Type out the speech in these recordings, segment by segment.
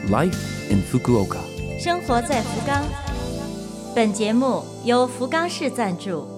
Life in Fukuoka。 生活在福冈。本节目由福冈市赞助。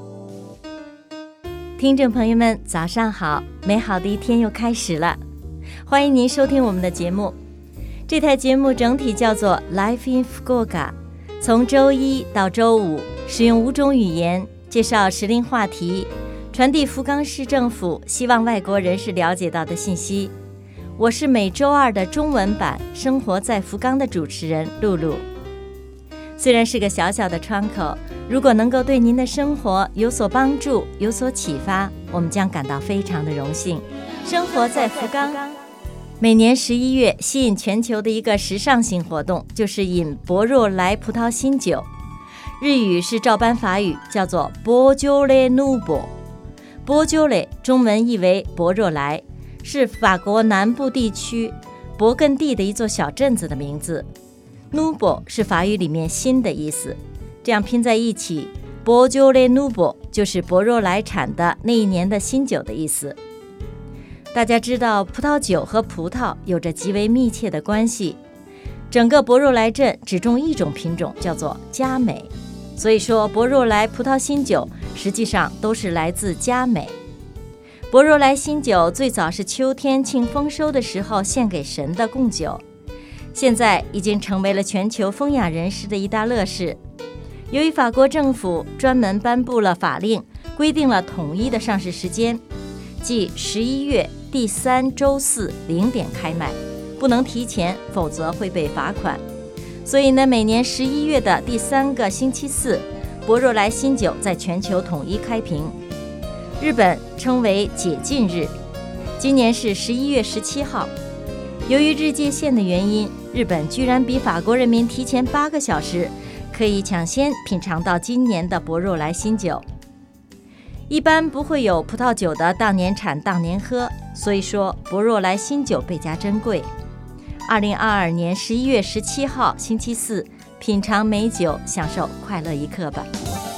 听众朋友们，早上好！美好的一天又开始了，欢迎您收听我们的节目。这台节目整体叫做 Life in Fukuoka， 从周一到周五，使用5种语言介绍时令话题，传递福冈市政府希望外国人士了解到的信息。我是每周二的中文版生活在福冈的主持人露露。虽然是个小小的窗口，如果能够对您的生活有所帮助，有所启发，我们将感到非常的荣幸。生活在福冈，每年11月吸引全球的一个时尚性活动就是饮博若莱葡萄新酒，日语是照搬法语，叫做波鸠雷努博。波鸠雷中文译为博若莱，是法国南部地区勃艮第的一座小镇子的名字。Nouveau 是法语里面新的意思，这样拼在一起，波鸠雷努博就是博若莱产的那一年的新酒的意思。大家知道葡萄酒和葡萄有着极为密切的关系，整个博若莱镇只种一种品种，叫做佳美，所以说博若莱葡萄新酒实际上都是来自佳美。博若莱新酒最早是秋天庆丰收的时候献给神的贡酒，现在已经成为了全球风雅人士的一大乐事。由于法国政府专门颁布了法令，规定了统一的上市时间，即11月第3周40点开卖，不能提前，否则会被罚款。所以呢，每年11月的第3个星期四，博若莱新酒在全球统一开瓶。日本称为解禁日，今年是11月17号。由于日界线的原因，日本居然比法国人民提前8个小时，可以抢先品尝到今年的博若莱新酒。一般不会有葡萄酒的当年产当年喝，所以说博若莱新酒倍加珍贵。2022年11月17号星期四，品尝美酒，享受快乐一刻吧。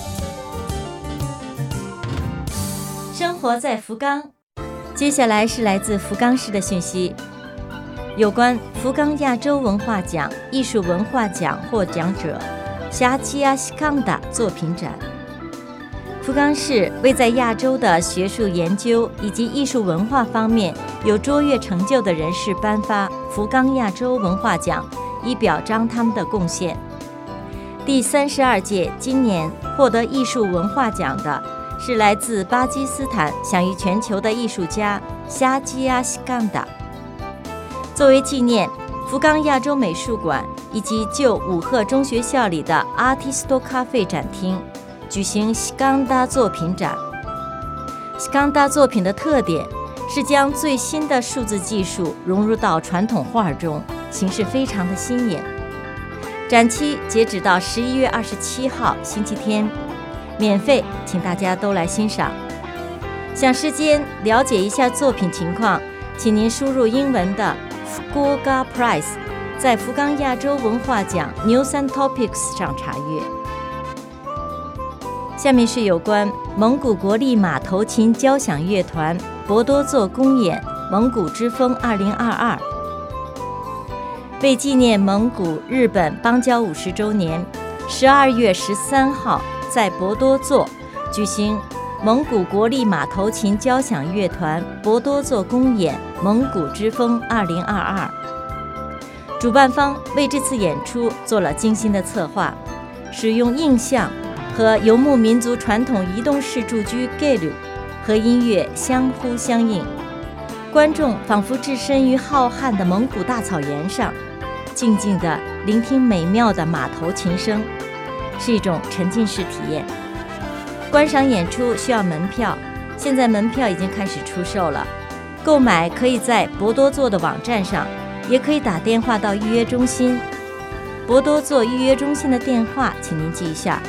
生活在福冈，接下来是来自福冈市的讯息，有关福冈亚洲文化奖艺术文化奖获奖者夏季亚西康达作品展。福冈市为在亚洲的学术研究以及艺术文化方面有卓越成就的人士颁发福冈亚洲文化奖，以表彰他们的贡献。第32届今年获得艺术文化奖的是来自巴基斯坦享誉全球的艺术家夏季亚西康达。作为纪念，福冈亚洲美术馆以及旧武鹤中学校里的 Artisto Cafe 展厅举行西冈达作品展。西冈达作品的特点是将最新的数字技术融入到传统画中，形式非常的新颖。展期截止到11月27号星期天，免费，请大家都来欣赏。想事先了解一下作品情况，请您输入英文的 Fukuoka Prize， 在福冈亚洲文化奖 News and Topics 上查阅。下面是有关蒙古国立马头琴交响乐团博多座公演蒙古之风2022。为纪念蒙古日本邦交50周年，12月13号在博多座举行蒙古国立马头琴交响乐团博多座公演蒙古之风2022。主办方为这次演出做了精心的策划，使用映像和游牧民族传统移动式住居 Gelu 和音乐相互相应，观众仿佛置身于浩瀚的蒙古大草原上，静静地聆听美妙的马头琴声，是一种沉浸式体验。观赏演出需要门票，现在门票已经开始出售了，购买可以在博多座的网站上，也可以打电话到预约中心。博多座预约中心的电话请您记一下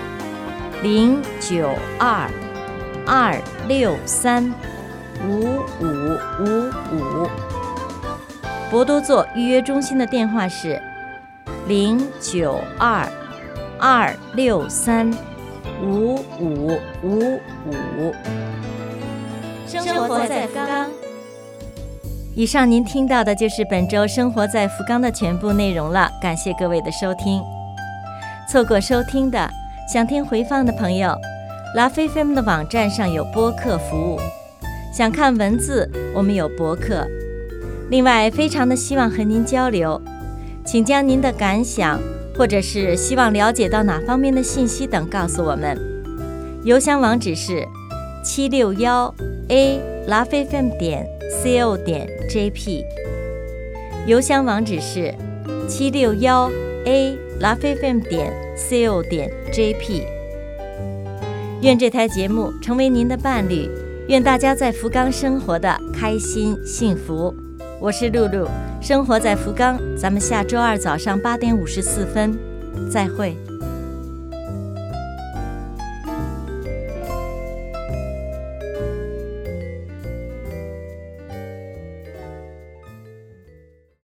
：092-263-5555。博多座预约中心的电话是092-263-5555。生活在福冈。 以上您听到的就是本周生活在福冈的全部内容了，感谢各位的收听。错过收听的，想听回放的朋友，LoveFM 的网站上有播客服务，想看文字，我们有博客。另外，非常的希望和您交流，请将您的感想或者是希望了解到哪方面的信息等告诉我们。邮箱网址是761@lovefm.co.jp， 邮箱网址是761@lovefm.co.jp。 愿这台节目成为您的伴侣，愿大家在福冈生活的开心幸福。我是露露，生活在福冈，咱们下周二早上8点54分再会。